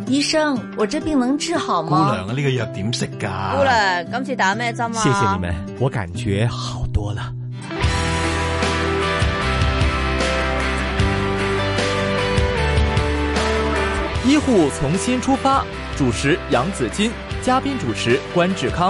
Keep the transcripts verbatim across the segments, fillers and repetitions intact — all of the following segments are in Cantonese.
醫生，我這病能治好嗎？ 姑娘啊，呢個藥點食㗎？ 姑娘，今次打咩針啊？ 謝謝你們，我感覺好多了。醫護從新出發，主持楊子矜，嘉賓主持關志康。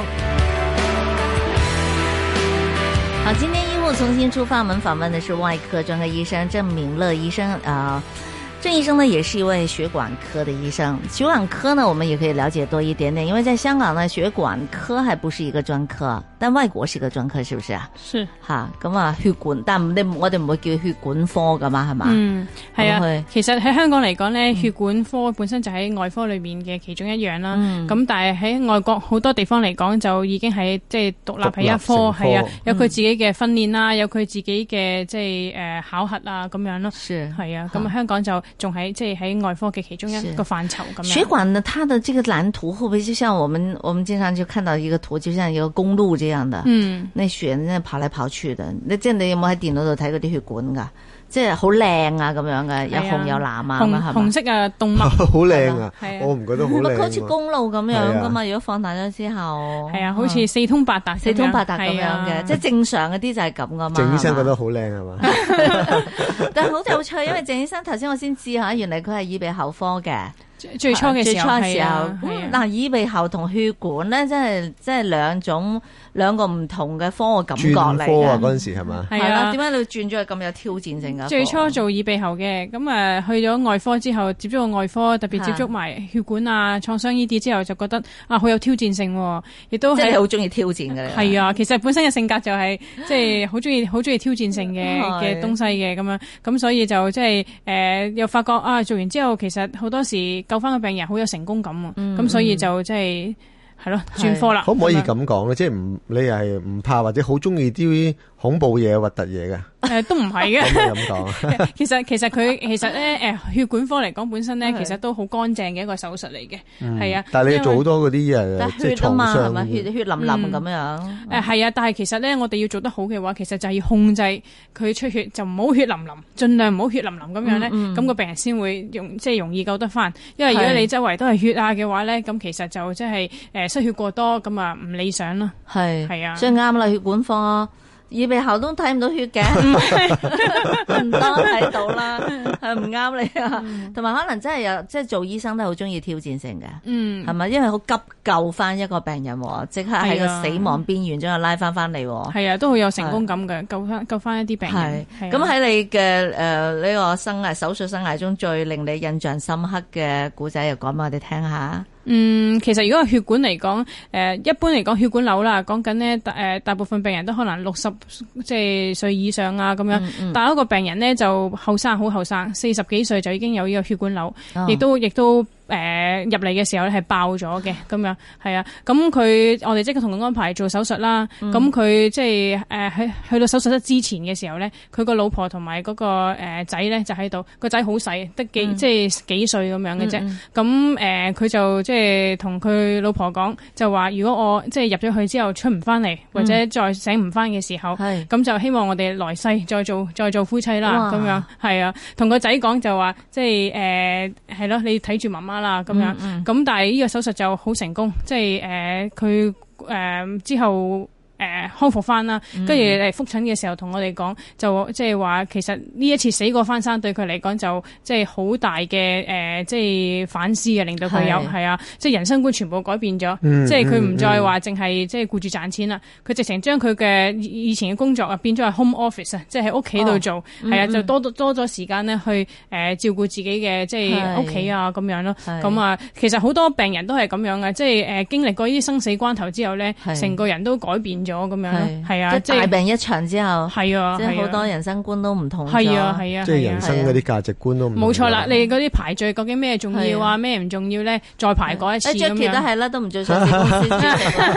好，今天醫護從新出發，我們訪問的是外科專科醫生鄭明樂醫生啊。鄭醫生呢也是一位血管科的醫生，血管科呢我們也可以了解多一點點，因為在香港呢血管科還不是一個專科，但外國是一個專科，是不是啊？ 是吓，咁啊血管，但你我哋唔會叫血管科噶嘛，係嘛？ 嗯，係啊。其實喺香港嚟講咧， 嗯、 血管科本身就喺外科裏面嘅其中一樣啦。咁、 嗯、 但係喺外國好多地方嚟講，就已經係即係獨立係一科，係啊，有佢自己嘅訓練啦，有佢自己嘅即係誒考核啊咁樣咯。 是， 係啊。咁香港就仲喺即係喺外科嘅其中一個範疇咁樣。 血管呢，它的這個藍圖會不會就像我們我們經常就看到一個圖，就像一個公路這樣的？嗯，那血呢跑來跑去的。你即係你有冇喺電腦度睇嗰啲血管噶？即係好靚啊咁樣嘅，有紅有藍啊， 紅係紅色啊動脈好靚啊！我唔覺得好靚。 好似公路咁樣噶嘛，如果放大咗之後， 係啊，好似四通八達， 四通八達咁樣嘅，即係正常嗰啲就係咁噶嘛。 鄭醫生覺得好靚係嘛？ 但係好有趣，因為鄭醫生頭先我先知吓，原來佢係耳鼻喉科嘅。 最初嘅時候， 係啊，嗱，耳鼻喉同血管咧，真係即係兩種兩個唔同嘅科嘅感覺嚟嘅。 專科啊，嗰陣時係嘛？ 係啊，點解你轉咗去咁有挑戰性噶？ 最初做耳鼻喉嘅，咁誒去咗外科之後，接觸個外科，特別接觸埋血管啊、創傷呢啲之後，就覺得啊好有挑戰性，亦都係好中意挑戰嘅。 係啊，其實本身嘅性格就係即係好中意好中意挑戰性嘅嘅東西嘅咁樣，咁所以就即係誒又發覺啊，做完之後其實好多時救翻個病人好有成功感啊，咁、嗯、所以就即係係咯轉科啦。 可唔可以咁講咧？即係唔你係唔怕或者好中意啲恐怖嘢、核突嘢嘅？ 誒、呃，都唔係嘅。 咁講， 其實其實佢其實咧，誒、呃，血管科嚟講本身咧，其實都好乾淨嘅一個手術嚟嘅，係、嗯、啊。 但係你要做好多嗰啲誒，即係創傷，係咪血血淋淋咁樣？誒、 嗯，係、呃、啊，但係其實咧，我哋要做得好嘅話，其實就係要控制佢出血，就唔好血淋淋，盡量唔好血淋淋咁樣咧，咁、嗯嗯、個病人先會容即係容易救得翻。因為如果你周圍都係血啊嘅話咧，咁其實就即係誒失血過多，咁啊唔理想咯。係係啊， 所以啱啦，血管科。耳鼻喉都睇唔到血嘅，唔多睇到啦，係唔啱你啊！同、嗯、埋可能真係有，即係做醫生都好中意挑戰性嘅，嗯，係咪？因為好急救翻一個病人，即刻喺個死亡邊緣將佢拉翻翻嚟， 係啊，都好有成功感嘅，救翻救翻一啲病人。 係咁喺你嘅誒呢個生涯手術生涯中，最令你印象深刻嘅古仔，又講俾我哋聽下。 嗯，其實如果係血管嚟講，誒、呃，一般嚟講血管瘤啦，講緊呢，誒、呃，大部分病人都可能六十即係歲以上啊，咁樣。嗯嗯、但係一個病人呢，就後生，好後生，四十幾歲就已經有呢個血管瘤，亦、哦、都亦都。誒、呃、入嚟嘅時候咧係爆咗嘅，咁樣係啊，咁佢我哋即刻同佢安排做手術啦。咁佢即係誒喺去到手術室之前嘅時候咧，佢個老婆同埋嗰個誒仔咧就喺度，個仔好細，得幾、嗯、即係幾歲咁樣嘅啫。咁誒佢就即係同佢老婆講，就話如果我即係入咗去之後出唔翻嚟，或者再醒唔翻嘅時候，咁、嗯、就希望我哋來世再做再做夫妻啦。咁樣係啊，同個仔講就話即係誒係咯，你睇住媽媽啦，咁樣，咁、嗯嗯、但係呢個手術就好成功，即係誒佢誒之後。誒、呃、康復翻啦，跟住嚟復診嘅時候同我哋講，就即係話其實呢一次死過翻生對佢嚟講就即係好大嘅誒、呃，即係反思嘅，令到佢有係啊，即係人生觀全部改變咗、嗯，即係佢唔再話淨係即係顧住賺錢啦，佢、嗯、直情將佢嘅以前嘅工作啊變咗係 home office 啊，即係喺屋企度做，係、哦、啊，就多多咗時間咧去誒、呃、照顧自己嘅即係屋企啊咁樣咯。咁啊，其實好多病人都係咁樣嘅，即係誒、呃、經歷過呢啲生死關頭之後咧，成個人都改變咗咁樣咯，係啊，即係大病一場之後，係啊，即係好多人生觀都唔同咗，係啊，係啊，即係人生嗰啲價值觀都唔同。冇錯啦，你嗰啲排序究竟咩重要啊，咩唔重要咧？再排過一次咁樣。Jackie 都係啦，都唔做上市公司主席，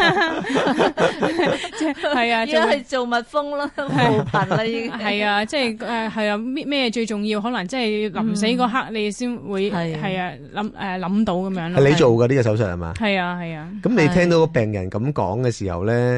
即係係啊，而家係做蜜蜂咯，冇貧啦已經。係啊，即係誒係啊，咩咩最重要？可能即係臨死嗰刻你先會係啊諗誒諗到咁樣咯。係你做嘅呢個手術係嘛？係啊係啊。咁你聽到個病人咁講嘅時候咧？係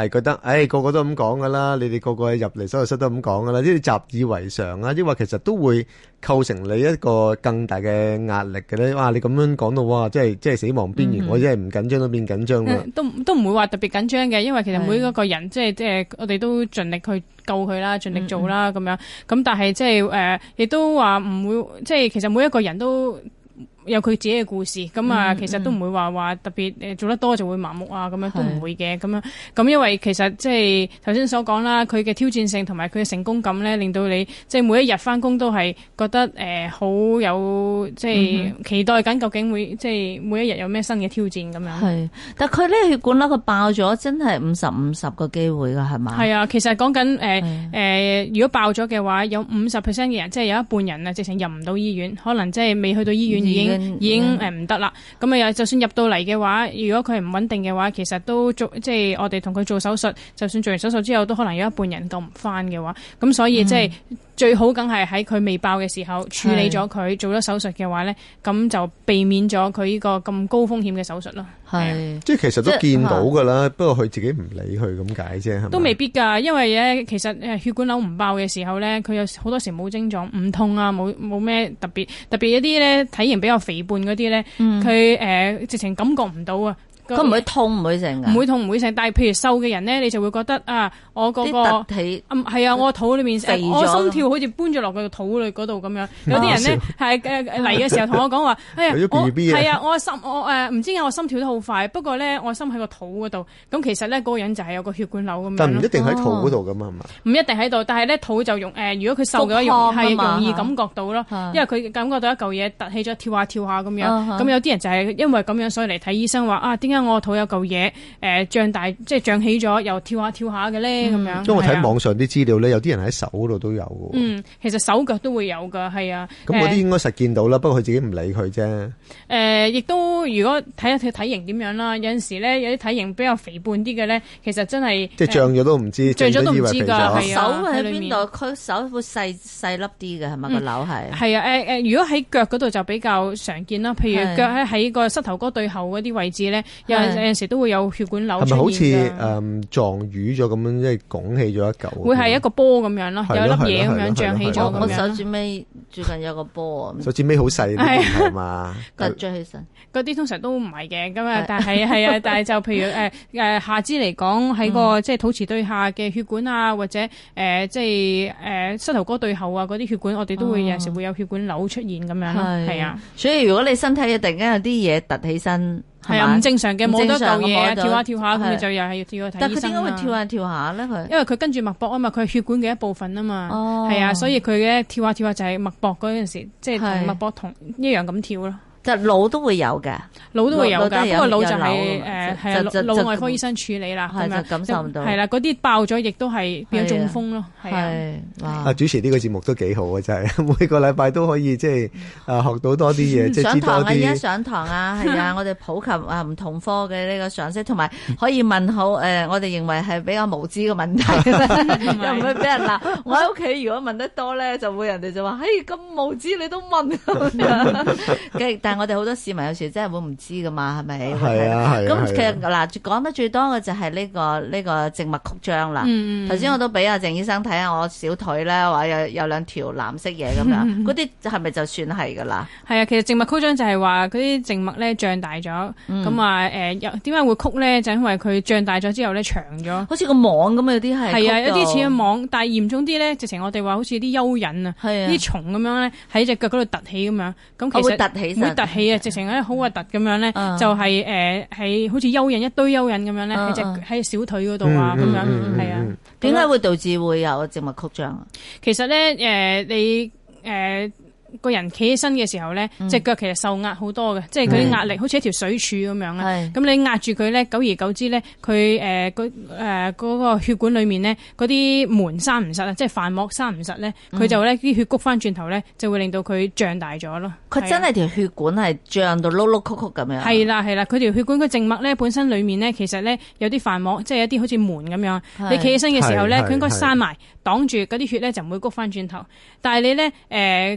係覺得，誒、哎、個個都咁講噶啦，你哋個個入嚟手術室都咁講噶啦，呢啲習以為常啊，抑或其實都會構成你一個更大嘅壓力嘅咧。哇！你咁樣講到哇，即係即係死亡邊緣，嗯、我真係唔緊張都變緊張啦。 都都唔會話特別緊張嘅，因為其實每一個人即係即係我哋都盡力去救佢啦，盡力做啦咁、嗯、樣。咁但係即係誒，亦、呃、都話唔會，即係其實每一個人都有佢自己嘅故事，咁啊，其實都唔會話話特別誒做得多就會麻木啊，咁樣都唔會嘅，咁樣咁因為其實即係頭先所講啦，佢嘅挑戰性同埋佢嘅成功感咧，令到你即係每一日翻工都係覺得誒好、呃、有即係期待緊，究竟會即係每一日有咩新嘅挑戰咁樣。係，但佢呢血管啦，佢爆咗，真係五十五十個機會噶，係嘛？係啊，其實講緊誒誒，如果爆咗嘅話，有五十 percent 嘅人，即係有一半人啊，直情入唔到醫院，可能即係未去到醫院已經。已經誒唔得啦，咁啊又就算入到嚟嘅話，如果佢係唔穩定嘅話，其實都做即係我哋同佢做手術，就算做完手術之後，都可能有一半人救唔翻嘅話，咁所以即係。嗯最好梗係喺佢未爆嘅時候處理咗佢，做咗手術嘅話咧，咁就避免咗佢呢個咁高風險嘅手術咯。係，即係其實都見到噶啦，不過佢自己唔理佢咁解啫，係咪？都未必㗎，因為咧其實誒血管瘤唔爆嘅時候咧，佢有好多時冇症狀，唔痛啊，冇冇咩特別，特別一啲咧體型比較肥胖嗰啲咧，佢、嗯、誒、呃、直情感覺唔到啊。佢唔會痛唔會成㗎，唔會痛唔會成。但係譬如瘦嘅人咧，你就會覺得啊，我嗰、嗰個係、嗯、啊，我個肚裏面肥咗，我心跳好似搬咗落個肚裏嗰度咁樣。有啲人咧係誒嚟嘅時候同我講話，哎呀，我係啊，我心我誒唔、呃、知點解我心跳得好快，不過咧我心喺個肚嗰度。咁其實咧嗰、嗰個人就係有個血管瘤咁樣。但唔一定喺肚嗰度㗎嘛，係嘛？唔一定喺度，但係咧肚就容誒、呃，如果佢瘦嘅話，容係容易感覺到咯，因為佢感覺到一嚿嘢凸起咗，跳下跳下咁樣。咁有啲人就係因為咁樣，所以嚟睇醫生話啊，點解我肚有嚿嘢誒脹大，即係脹起咗，又跳下跳下嘅咧咁樣。因為我睇網上啲資料咧，有啲人喺手嗰度都有嘅。嗯，其實手腳都會有噶，係啊。咁嗰啲應該實見到啦，不過佢自己唔理佢啫。誒，亦都如果睇下佢體型點樣啦，有陣時咧有啲體型比較肥胖啲嘅咧，其實真係即係脹咗都唔知，脹咗都唔知㗎。係啊，手喺邊度？佢手會細細粒啲嘅係咪個瘤係？係啊，誒誒，如果喺腳嗰度就比較常見啦。譬如腳喺喺個膝頭哥對後嗰啲位置咧，有有陣時都會有血管瘤出現㗎。係咪好似誒撞瘀咗咁樣，即係拱起咗一嚿？會係一個波咁樣咯，有一粒嘢咁樣脹起咗咁樣。我手指尾最近有個波啊，手指尾好細啲係嘛？趌咗起身，嗰啲通常都唔係嘅咁啊。但係係啊，但係就譬如誒誒、呃、下肢嚟講，喺個、嗯、即係肚臍對下嘅血管啊，或者誒、呃、即係誒、呃、膝頭哥對後啊嗰啲血管，我哋都會有陣時會有血管瘤出現咁樣咯。係啊，所以如果你身體突然間有啲嘢突起身。係啊，唔正常嘅，冇得嚿嘢，跳下跳下咁，你就又係要跳去睇醫生。但佢點解會跳下跳下咧？佢因為佢跟住脈搏啊嘛，佢係血管嘅一部分啊嘛。哦，係啊，所以佢嘅跳下跳下就係脈搏嗰陣時，即係同脈搏同一樣咁跳咯。就腦都會有嘅，腦都會有㗎。不過腦就係誒係啊，腦外科醫生處理啦，咁樣感受唔到。係啦，嗰啲爆咗亦都係變咗中風咯。係哇！啊，主持呢個節目都幾好啊，真係每個禮拜都可以即係啊學到多啲嘢，即係知多啲。上堂啊，而家上堂啊，係啊，我哋普及啊唔同科嘅呢個常識，同埋可以問好誒，我哋認為係比較無知嘅問題，又唔會俾人鬧。我喺屋企如果問得多咧，就會人哋就話：嘿，咁無知你都問咁樣。但係我哋好多市民有時真係會唔知噶嘛，係咪？係啊係。咁其實嗱，講得最多嘅就係呢個呢個靜脈曲張啦。頭先我都俾阿鄭醫生睇下我小腿咧，話有有兩條藍色嘢咁樣，嗰啲係咪就算係噶啦？係啊，其實靜脈曲張就係話嗰啲靜脈咧脹大咗，咁啊誒，又點解會曲咧？就因為佢脹大咗之後咧長咗，好似個網咁啊！有啲係係啊，有啲似個網，但係嚴重啲咧，直情我哋話好似啲蚯蚓啊，啲蟲咁樣咧喺隻腳嗰度凸起咁樣，咁其實會凸起會凸起啊，直情咧好核突咁樣咧，就係誒係好似蚯蚓一堆蚯蚓咁樣咧喺隻喺小腿嗰度啊咁樣，係啊。點解會導致會有靜脈曲張啊？其實咧誒你誒。個人企起身嘅時候咧，隻腳其實受壓好多嘅，即係佢啲壓力好似一條水柱咁樣啊。咁你壓住佢咧，久而久之咧，佢誒嗰誒嗰個血管裏面咧，嗰啲門閂唔實啊，即係瓣膜閂唔實咧，佢就咧啲血谷翻轉頭咧，就會令到佢脹大咗咯。佢真係條血管係脹到碌碌曲曲咁樣。係啦係啦，佢條血管個靜脈咧本身裏面咧，其實咧有啲瓣膜，即係一啲好似門咁樣。你企起身嘅時候咧，佢應該閂埋擋住嗰啲血咧，就唔會谷翻轉頭。但係你咧誒，其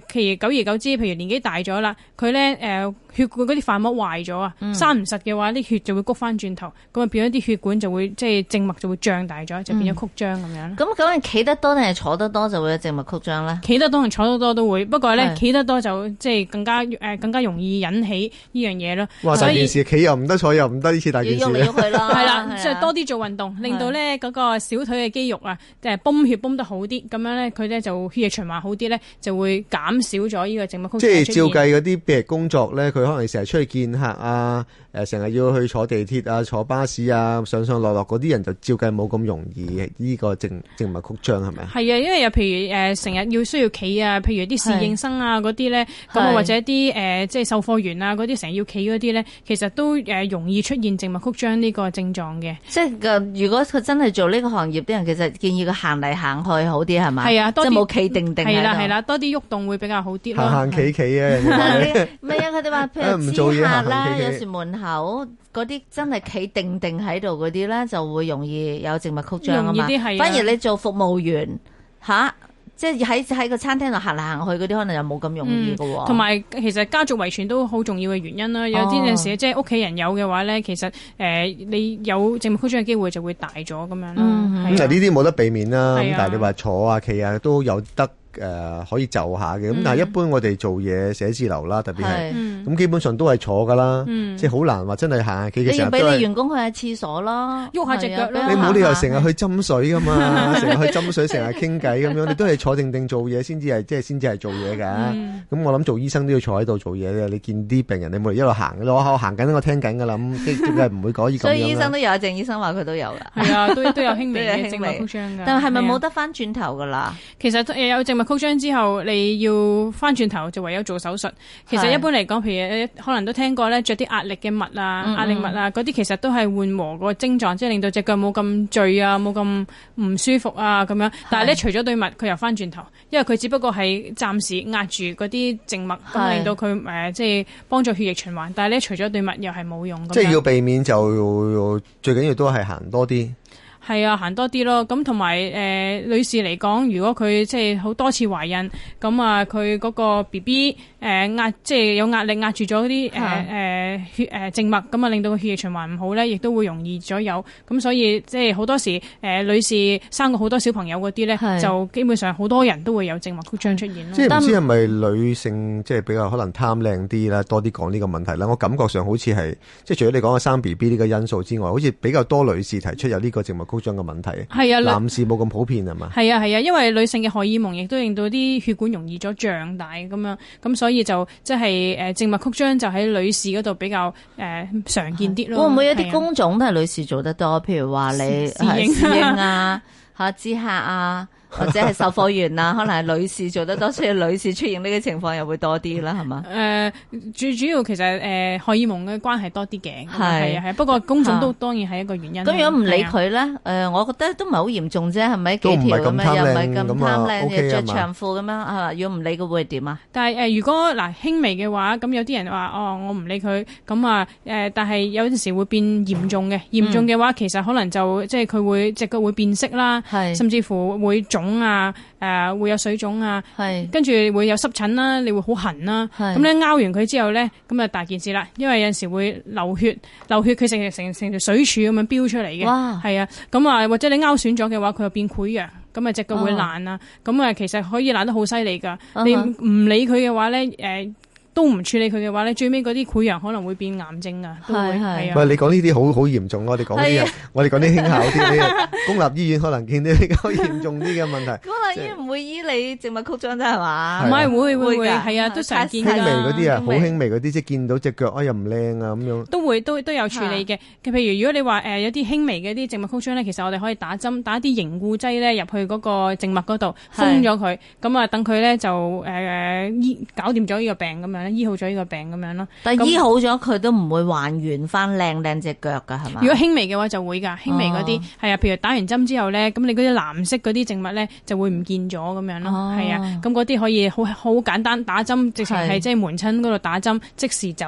久而久之，譬如年紀大咗啦，佢咧誒血管嗰啲瓣膜壞咗啊，生唔實嘅話，啲血就會谷翻轉頭，咁啊變咗啲血管就會即係靜脈就會脹大咗，就變咗曲張咁樣。 咁究竟企得多定係坐得多就會有靜脈曲張咧？企得多同坐得多都會，不過咧企得多就即係更加誒、呃、更加容易引起呢樣嘢咯。 哇！大件事，企又唔得，坐又唔得，呢次大件事。 要喐嚟喐去啦， 係啦，即係多啲做運動，令到咧嗰個小腿嘅肌肉啊，誒泵血泵得好啲，咁樣咧佢咧就血液循環好啲咧，就會減少咗呢個靜脈曲張。 即係照計嗰啲譬如工作咧，佢可能成日出去見客啊，誒成日要去坐地鐵啊、坐巴士啊、上上落落嗰啲人就照計冇咁容易呢個靜靜脈曲張係咪？ 係啊，因為又譬如誒成日要需要企啊，譬如啲侍應生啊嗰啲咧，咁或者啲誒即係售貨員啊嗰啲成日要企嗰啲咧，其實都誒容易出現靜脈曲張呢個症狀嘅。 即係如果佢真係做呢個行業啲人，其實建議佢行嚟行去好啲係咪？ 係啊，多即係冇企定定。 係啦係啦，多啲喐動會比較好啲咯。 行行企企啊！ 唔係啊，佢哋話譬如知客啦，有時門口嗰啲真係企定定喺度嗰啲咧，就會容易有靜脈曲張啊嘛。反而你做服務員吓。即係喺喺個餐廳度行嚟行去嗰啲，可能又冇咁容易㗎喎。 同埋其實家族遺傳都好重要嘅原因啦。有啲陣時即係屋企人有嘅話咧，其實誒你有靜脈曲張嘅機會就會大咗咁樣啦。 咁嗱呢啲冇得避免啦。咁但係你話坐啊企啊都有得。誒、呃、可以就下嘅，咁但係一般我哋做嘢寫字樓啦，特別係咁基本上都係坐噶啦，嗯、即係好難話真係行下企嘅時候都係。你要俾你員工去下廁所咯， 喐下隻腳咯。 你冇理由成日去斟水噶嘛，成日去斟水，成日傾偈咁樣，你都係坐定定做嘢先至係，即係先至係做嘢㗎。咁、嗯、我諗做醫生都要坐喺度做嘢嘅，你見啲病人你冇理由一路行，我我行緊我聽緊㗎啦，咁即係唔會可以咁樣。 所以醫生都有，鄭醫生話佢都有㗎。 係啊，都都有輕微嘅靜脈曲張㗎。 但係係咪冇得翻轉頭㗎啦？ 其實有靜脈曲張之後。你要翻轉頭就唯有做手術。其實一般嚟講，譬如可能都聽過咧，着啲壓力嘅襪啊、嗯嗯壓力襪啊，嗰啲其實都係緩和個症狀，即係令到隻腳冇咁墜啊，冇咁唔舒服啊咁樣。但係咧，除咗對襪，佢又翻轉頭，因為佢只不過係暫時壓住嗰啲靜脈，咁令到佢誒、呃、即係幫助血液循環。但係咧，除咗對襪又係冇用。 即係要避免就最緊要都係行多啲。 係啊，行多啲咯。咁同埋誒女士嚟講，如果佢即係好多次懷孕，咁啊佢嗰個 B B 誒壓即係有壓力壓住咗啲誒誒血誒靜脈，咁啊令到個血液循環唔好咧，亦都會容易咗有。咁所以即係好多時誒、呃、女士生過好多小朋友嗰啲咧，就基本上好多人都會有靜脈曲張出現咯。 即係唔知係咪女性即係比較可能貪靚啲啦，多啲講呢個問題啦。我感覺上好似係即係除咗你講嘅生 B B 呢個因素之外，好似比較多女士提出有呢個靜脈曲張嘅問題。 係啊， 男士冇咁普遍係嘛？係啊係啊，因為女性嘅荷爾蒙亦都令到啲血管容易咗脹大咁樣，咁所以就即係誒靜脈曲張就喺女士嗰度比較誒、呃、常見啲咯。 會唔會有啲工種都係女士做得多？譬如話你侍應啊、嚇知客啊。或者係售貨員啊，可能係女士做得多，所以女士出現呢個情況又會多啲啦，係嘛？誒、呃， 最主要其實誒、呃、荷爾蒙嘅關係多啲嘅，係啊係。不過工種都當然係一個原因。咁如果唔理佢咧，誒、呃，我覺得都唔係好嚴重啫，係咪？幾條咁樣又唔係咁貪靚嘅着長褲咁樣啊？如果唔理佢會點啊？但係誒、呃，如果嗱輕微嘅話，咁有啲人話哦，我唔理佢，咁啊誒，但係有陣時會變嚴重嘅。嚴重嘅話，其實可能就即係佢會隻腳會變色啦，甚至乎會腫啊，誒、呃、會有水腫啊，跟住會有濕疹啦，你會好痕啦，咁咧拗完佢之後咧，咁啊大件事啦，因為有陣時會流血，流血佢成成成條水柱咁樣飆出嚟嘅，係啊，咁啊或者你拗損咗嘅話，佢又變潰瘍，咁啊隻腳會爛啊，咁啊其實可以爛得好犀利噶，你唔理佢嘅話咧，誒、呃。都唔處理佢嘅話咧，最尾嗰啲潰瘍可能會變癌症啊！都會係啊。 喂，你講呢啲好好嚴重咯，我哋講啲我哋講啲輕巧啲啲。公立醫院可能見到比較嚴重啲嘅問題。 公立醫院唔會醫你靜脈曲張啫係嘛？ 唔係會會會係啊，都常見㗎。 輕微嗰啲啊，好輕微嗰啲，即係見到隻腳啊又唔靚啊咁樣。 都會都都有處理嘅。譬如如果你話誒有啲輕微嘅啲靜脈曲張咧，其實我哋可以打針打啲凝固劑咧入去嗰個靜脈嗰度封咗佢，咁啊等佢咧就誒醫搞掂咗呢個病咁樣。醫好咗呢個病咁樣咯， 但係醫好咗佢都唔會還原翻靚靚隻腳噶係嘛？ 如果輕微嘅話就會噶，輕微嗰啲係啊，譬如打完針之後咧，咁你嗰啲藍色嗰啲靜脈咧就會唔見咗咁樣咯，係啊，咁嗰啲可以好好簡單打針，直情係即係門診嗰度打針即時走。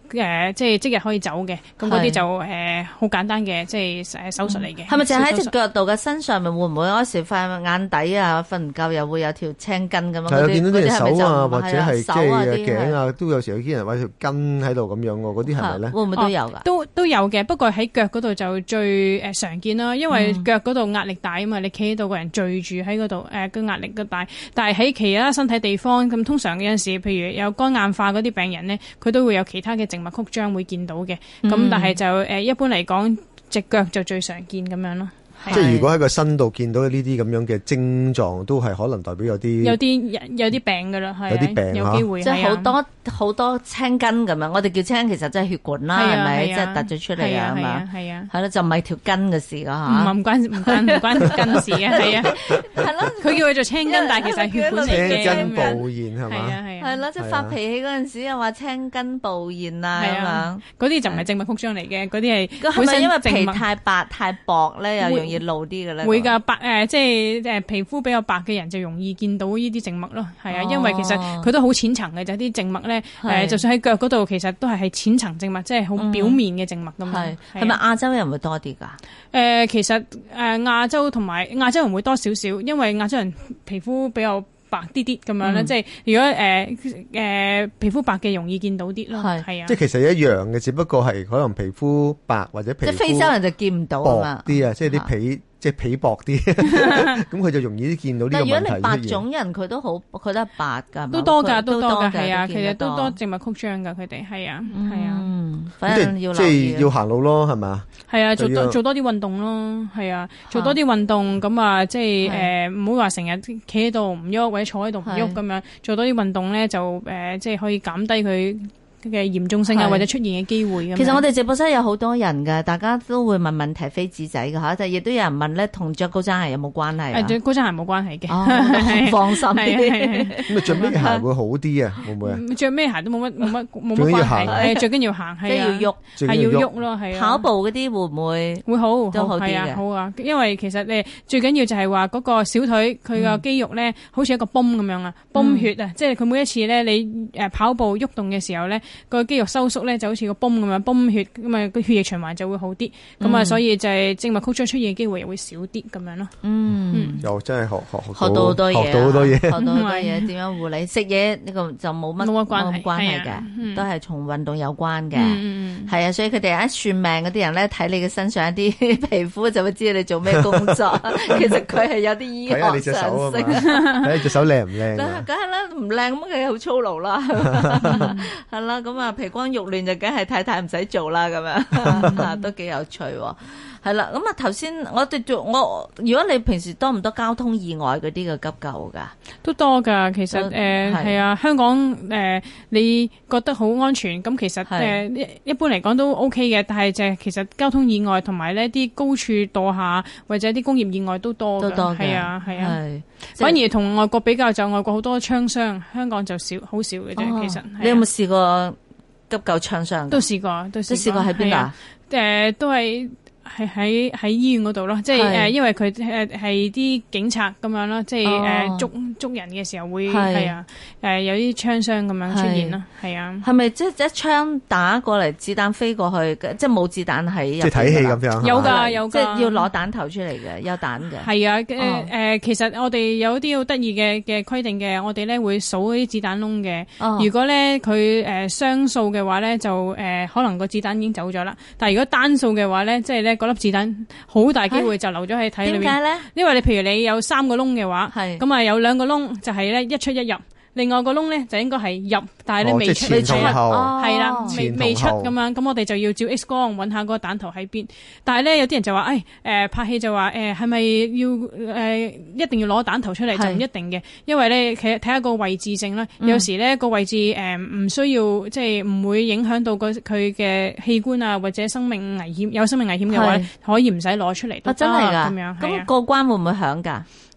誒即係即日可以走嘅，咁嗰啲就誒好簡單嘅即係誒手術嚟嘅。 係咪就喺隻腳度嘅身上面會唔會嗰時塊眼底啊瞓唔夠又會有條青筋咁樣？ 係啊，見到啲人手啊，或者係即係頸頸啊，都有時有啲人話條筋喺度咁樣喎，嗰啲係咪咧？ 會唔會都有㗎？ 都都有嘅，不過喺腳嗰度就最誒常見啦，因為腳嗰度壓力大啊嘛，你企喺度個人聚住喺嗰度誒個壓力都大。但係喺其他身體地方咁，通常有陣時，譬如有肝硬化嗰啲病人咧，佢都會有其他嘅靜脈曲張會見到嘅。咁、嗯、但係就誒一般嚟講，隻腳就最常見咁樣咯。 即係如果喺個身度見到呢啲咁樣嘅症狀，都係可能代表有啲有啲有啲病㗎啦，係有啲病有機會， 即係好多好多青筋咁樣。我哋叫青筋，其實真係血管啦，係咪？即係突咗出嚟啊嘛，係啊，係咯，就唔係條筋嘅事㗎嚇。唔唔關唔關唔關條筋事嘅，係啊，係咯。佢叫佢做青筋，但係其實係血管嚟嘅。 青筋暴現係嘛？ 係啊係啊， 係咯，即係發脾氣嗰陣時又話青筋暴現啊咁樣。嗰啲就唔係靜脈曲張嚟嘅，嗰啲係係咪因為皮太白太薄咧，又容易露啲嘅咧？ 會㗎，白誒即係誒皮膚比較白嘅人就容易見到呢啲靜脈咯，係啊，因為其實佢都好淺層嘅，就啲靜脈咧誒，就算喺腳嗰度，其實都係係淺層靜脈，即係好表面嘅靜脈咁樣。係係咪亞洲人會多啲㗎？ 誒其實誒亞洲同埋亞洲人會多少少，因為亞洲人皮膚比較白啲啲咁樣咧，即係如果誒誒皮膚白嘅容易見到啲咯，係啊， 即係其實一樣嘅，只不過係可能皮膚白或者皮膚即係非洲人就見唔到啊嘛， 薄啲啊，即係啲皮。即係皮薄啲，咁佢就容易啲見到呢個問題。 但如果你白種人，佢都好，佢都係白㗎， 都多㗎，都多㗎，係啊，其實都多靜脈曲張㗎，佢哋係啊，係啊， 反正要即係要行路咯，係嘛？ 係啊，做多做多啲運動咯，係啊，做多啲運動咁啊，即係誒唔好話成日企喺度唔喐，或者坐喺度唔喐咁樣，做多啲運動咧就誒即係可以減低佢嘅嚴重性啊，或者出現嘅機會咁。 其實我哋直播室有好多人㗎，大家都會問問題飛紙仔㗎嚇，但係亦都有人問咧，同着高踭鞋有冇關係啊？ 誒，着高踭鞋冇關係嘅， 哦，放心啲。 咁啊，着咩鞋會好啲啊？會唔會啊？ 着咩鞋都冇乜冇乜冇乜關係，誒，最緊要行， 即係要喐， 係要喐咯，係啊。 跑步嗰啲會唔會會好都好啲嘅？ 好啊，因為其實誒最緊要就係話嗰個小腿佢個肌肉咧，好似一個泵咁樣啊，泵血啊，即係佢每一次咧你誒跑步喐動嘅時候咧，個肌肉收縮咧就好似個泵咁樣泵血，咁啊個血液循環就會好啲，咁啊所以就係靜脈曲張出現嘅機會又會少啲咁樣咯。嗯， 又真係學學學到好多嘢， 學到好多嘢， 學到好多嘢，點樣護理？食嘢呢個就冇乜冇乜關係關係嘅，都係同運動有關嘅。係啊，所以佢哋一算命嗰啲人咧，睇你嘅身上一啲皮膚就會知道你做咩工作。其實佢係有啲醫學常識。 睇你隻手靚唔靚？ 梗係啦，唔靚咁佢好粗勞啦，係啦。咁啊，皮光肉亂就梗係太太唔使做啦，咁樣都幾有趣。係啦，咁啊頭先我哋做我，如果你平時多唔多交通意外嗰啲嘅急救噶？ 都多噶，其實誒係啊，香港誒你覺得好安全，咁其實誒一般嚟講都 OK 嘅，但係就係其實交通意外同埋呢啲高處墮下或者啲工業意外都多噶，係啊係啊，反而同外國比較就外國好多槍傷，香港就少好少嘅啫。其實你有冇試過急救槍傷？ 都試過，都試過喺邊度啊？ 誒都係。係喺喺醫院嗰度咯，即係誒，因為佢誒係啲警察咁樣咯，即係誒捉捉人嘅時候會係啊，誒有啲槍傷咁樣出現咯，係啊。係咪即係一槍打過嚟，子彈飛過去，即係冇子彈喺入邊？即係睇戲咁樣。 有㗎有㗎， 即係要攞彈頭出嚟嘅，有彈嘅。 係啊，誒誒，其實我哋有啲好得意嘅嘅規定嘅，我哋咧會數啲子彈窿嘅。如果咧佢誒雙數嘅話咧，就誒可能個子彈已經走咗啦。但係如果單數嘅話咧，即係咧。嗰粒子彈好大機會就留咗喺體裏面。點解咧？因為你譬如你有三個窿嘅話，咁啊有兩個窿就係咧一出一入，另外個窿咧就應該係入，但係你未出，未出，係啦，未未出咁樣。咁我哋就要照 X 光揾下嗰個彈頭喺邊。但係咧有啲人就話，誒誒拍戲就話誒係咪要誒一定要攞彈頭出嚟？就唔一定嘅，因為咧其實睇下個位置性啦。有時咧個位置誒唔需要，即係唔會影響到個佢嘅器官啊，或者生命危險有生命危險嘅話，可以唔使攞出嚟都得咁樣。 咁過關會唔會響㗎？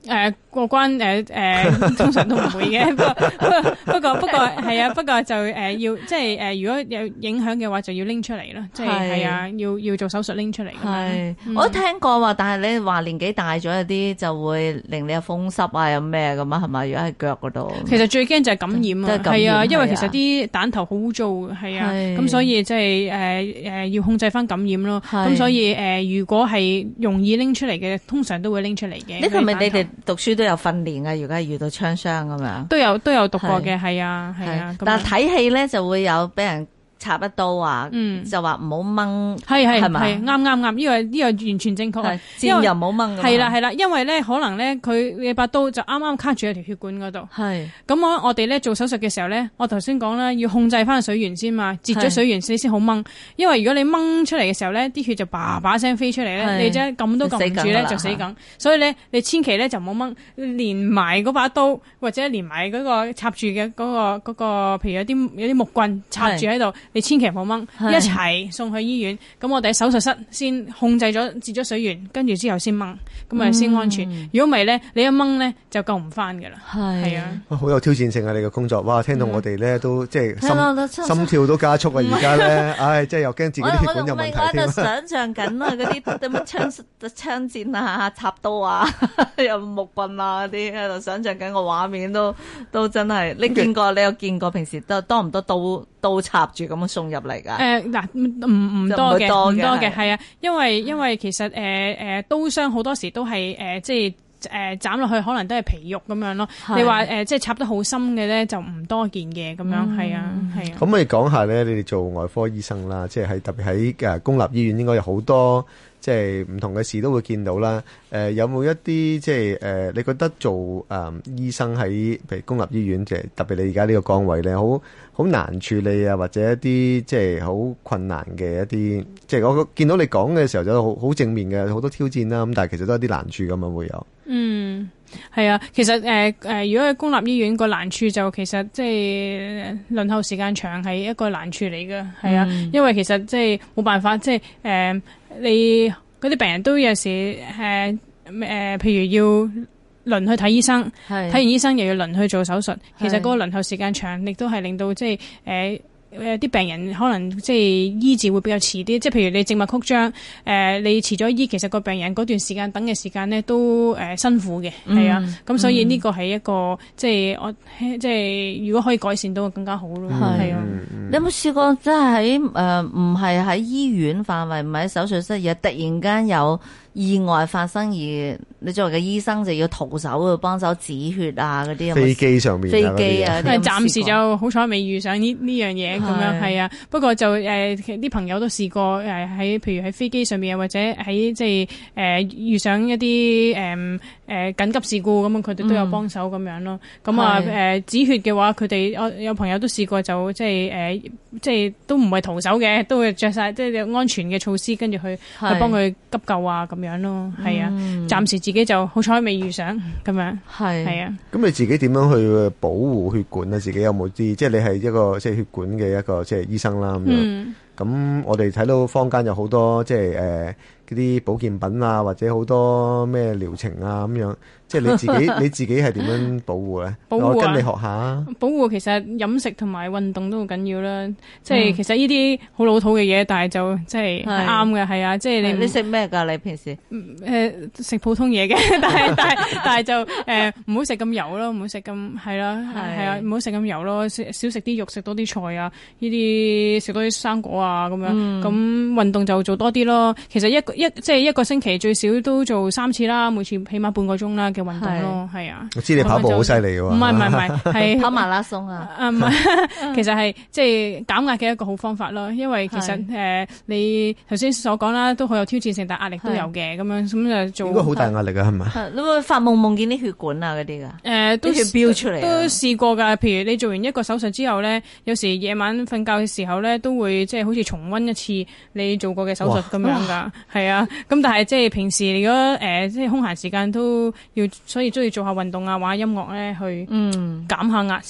誒過關誒誒，通常都唔會嘅。不過不過不過係啊，不過就誒要即係誒，如果有影響嘅話，就要拎出嚟咯。即係係啊，要要做手術拎出嚟。 係，我都聽過話，但係你話年紀大咗有啲就會令你有風濕啊，有咩咁啊？係咪？如果喺腳嗰度， 其實最驚就係感染啊。係啊，因為其實啲蛋頭好污糟嘅，係啊。咁所以即係誒誒要控制翻感染咯。咁所以誒，如果係容易拎出嚟嘅，通常都會拎出嚟嘅。 呢個係咪你哋讀書都有訓練啊？如果係遇到槍傷咁樣， 都有都有讀過嘅，係啊係啊。 但係睇戲咧就會有俾人插一刀啊，嗯、就話唔好掹， 係係係咪？ 係啱啱啱，呢個呢個完全正確。 箭又唔好掹， 係啦係啦，因為咧可能咧佢你把刀就啱啱卡住喺條血管嗰度。係咁我我哋咧做手術嘅時候咧，我頭先講啦，要控制翻水源先嘛，截咗水源你先好掹。因為如果你掹出嚟嘅時候咧，啲血就叭叭聲飛出嚟咧，你真撳都撳唔住咧就死梗。所以咧你千祈咧就唔好掹，連埋嗰把刀或者連埋嗰個插住嘅嗰個嗰個，譬如有啲有啲木棍插住喺度。你千祈唔好掹，一齊送去醫院。咁我哋喺手術室先控制咗截咗水源，跟住之後先掹，咁啊先安全。如果唔係咧，你一掹咧就救唔翻噶啦。係啊， 好有挑戰性啊！你嘅工作，哇！聽到我哋咧都即係心心跳都加速啊！而家咧，唉，即係又驚自己啲血管有問題添。 我喺度想象緊啊，嗰啲點乜槍槍戰啊、插刀啊、有木棍啊嗰啲喺度想象緊個畫面都都真係。你見過？你有見過？平時多多唔多刀刀插住咁樣送入嚟噶？ 誒嗱，唔唔多嘅，唔多嘅，係啊，因為因為其實誒誒刀傷好多時都係誒即係誒斬落去可能都係皮肉咁樣咯。你話誒即係插得好深嘅咧就唔多見嘅咁樣，係啊係啊。咁可以講下咧，你哋做外科醫生啦，即係喺特別喺誒公立醫院應該有好多即係唔同嘅事都會見到啦。誒有冇一啲即係誒你覺得做誒醫生喺譬如公立醫院，即係特別你而家呢個崗位咧，好好難處理啊，或者一啲即係好困難嘅一啲，即係我見到你講嘅時候就好好正面嘅，好多挑戰啦。咁但係其實都有啲難處咁啊，會有。 嗯，係啊，其實誒誒、呃，如果喺公立醫院個難處就其實即係輪候時間長係一個難處嚟㗎，係啊，嗯、因為其實即係冇辦法，即係誒、呃、你嗰啲病人都有時誒誒、呃呃，譬如要輪去睇醫生，睇完醫生又要輪去做手術，其實嗰個輪候時間長，亦都係令到即係誒。呃誒啲病人可能即係醫治會比較遲啲，即係譬如你靜脈曲張，誒、呃、你遲咗醫，其實個病人嗰段時間等嘅時間咧都誒、呃、辛苦嘅，係、嗯、啊，咁所以呢個係一個即係我即係如果可以改善到更加好咯，係啊。 你有冇試過即係喺誒唔係喺醫院範圍，唔係喺手術室，而突然間有意外發生，而你作為嘅醫生就要徒手去幫手止血啊嗰啲？ 飛機上面飛機啊， 暫時就好彩未遇上呢呢樣嘢咁樣，係啊。不過就誒啲、呃、朋友都試過誒喺譬如喺飛機上面，或者喺即係誒遇上一啲誒誒緊急事故咁，佢哋都有幫手咁樣咯。咁、嗯、啊誒止血嘅話，佢哋有有朋友都試過就即係誒即係都唔係徒手嘅，都會着晒即係安全嘅措施，跟住去去幫佢急救啊咁樣。樣咯，係啊，暫時自己就好彩未遇上咁樣，係係啊。咁你自己點樣去保護血管啊？自己有冇啲？即係你係一個即係血管嘅一個即係醫生啦咁樣。嗯咁我哋睇到坊間有好多即係誒嗰啲保健品啊，或者好多咩療程啊咁樣，即係你自己你自己係點樣保護咧？保護啊、我跟你學下啊！ 保護其實飲食同埋運動都好緊要啦。即係其實呢啲好老土嘅嘢，但係就即係啱嘅，係啊！即係你你食咩㗎？你平時誒食、呃、普通嘢嘅，但係但係但係就誒唔好食咁油咯，唔好食咁係啦，係啊，唔好食咁油咯，少少食啲肉，食多啲菜啊，呢啲食多啲生果啊。啊咁樣，咁運動就做多啲咯。其實一個一即係一個星期最少都做三次啦，每次起碼半個鐘啦嘅運動咯，係啊。我知你跑步好犀利嘅喎。 唔係唔係唔係，係跑馬拉松啊。 啊唔係，其實係即係減壓嘅一個好方法咯。因為其實誒、呃、你頭先所講啦，都好有挑戰性，但係壓力都有嘅。咁樣咁就做。應該好大壓力啊，係咪？ 你會發夢夢見啲血管啊嗰啲㗎？誒、呃，都血飆出嚟。都試過㗎。譬如你做完一個手術之後咧，有時夜晚瞓覺嘅時候咧，都會即係好似重溫一次你做過嘅手術咁樣噶，係啊。咁但係即係平時如果誒即係空閒時間都要，所以都要做下運動啊，玩下音樂咧去嗯減下壓先得。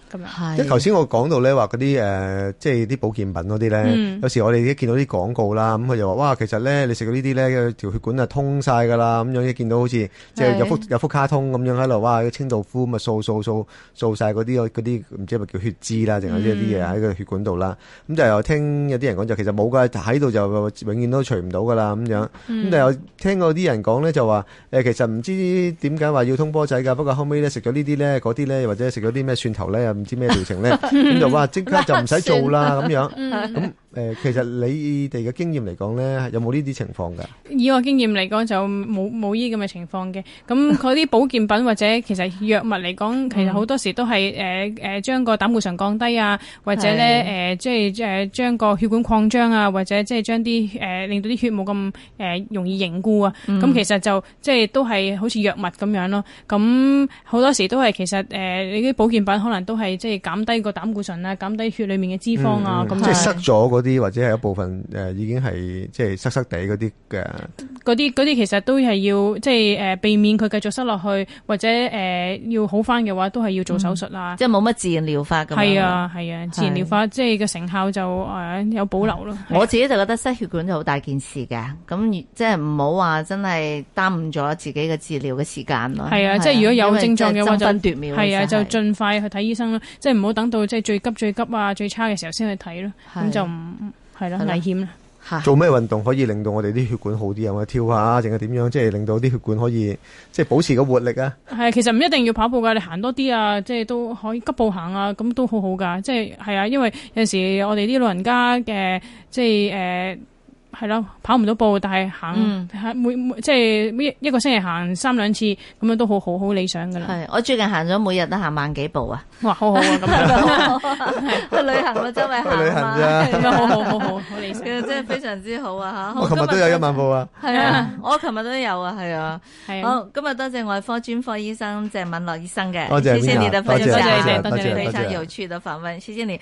咁樣。 即係頭先我講到咧話嗰啲誒，即係啲保健品嗰啲咧，嗯、有時我哋一見到啲廣告啦，咁佢就話哇，其實咧你食到呢啲咧條血管啊通晒㗎啦，咁樣一見到好似即係有幅有幅卡通咁樣喺度，哇！清道夫咁啊掃掃掃掃曬嗰啲嗰啲唔知係咪叫血脂啦，定係一啲嘢喺個血管度啦。咁、嗯、就又聽有啲人講就其實冇㗎，喺度就永遠都除唔到㗎啦咁樣。咁、嗯、但係有聽過啲人講咧就話誒，其實唔知點解話要通波仔㗎，不過後尾咧食咗呢啲咧嗰啲咧，或者食咗啲咩蒜頭咧，又唔知咩療程咧，咁就話即刻就唔使做啦咁樣。咁誒，其實你哋嘅經驗嚟講咧，有冇呢啲情況㗎？ 以我經驗嚟講，就冇冇呢咁嘅情況嘅。咁嗰啲保健品或者其實藥物嚟講，其實好多時都係誒誒將個膽固醇降低啊，或者咧誒即係誒將個血管擴張啊，或者即係將啲誒令到啲血冇咁誒容易凝固啊。咁、嗯、其實就即係都係好似藥物咁樣咯。咁好多時都係其實誒、呃、你啲保健品可能都係即係減低個膽固醇啊，減低血裡面嘅脂肪啊。咁、嗯嗯、 即係塞咗嗰啲或者係一部分誒、呃、已經係即係塞塞地嗰啲嘅。 嗰啲嗰啲其實都係要即係誒、呃、避免佢繼續塞落去，或者誒、呃、要好翻嘅話，都係要做手術啦、嗯。 即係冇乜自然療法咁樣。係啊係啊，自然療法即係個成效就誒、呃、有保留咯。 我自己就覺得塞血管就好大件事嘅，咁即係唔好話真係耽誤咗自己嘅治療嘅時間咯。 係啊，即係如果有症狀嘅話就係啊，就盡盡快去睇醫生咯。即係唔好等到即係最急最急啊最差嘅時候先去睇咯。咁就唔係咯，危險啦。 做咩運動可以令到我哋啲血管好啲？有冇跳下，定係點樣？即係令到啲血管可以即係保持個活力啊？ 係，其實唔一定要跑步噶，你行多啲啊，即係都可以急步行啊，咁都好好噶。即係係啊，因為有陣時我哋啲老人家嘅即係誒。呃係咯，跑唔到步，但係行、嗯、每每即係一個星期行三兩次，咁樣都好好好理想噶啦。 係，我最近行咗每日都行萬幾步啊！ 哇，好好啊，咁樣去旅行咯，周圍行旅行啫， 咁樣好好好好好理想， 真係非常之好啊！吓， 我琴日都有一萬步啊， 係啊，我琴日都有啊，係啊，係啊。好，今日多謝外科專科醫生鄭敏樂醫生嘅， 多謝， 謝謝你的分享， 多謝， 多謝非常有趣的訪問，謝謝你。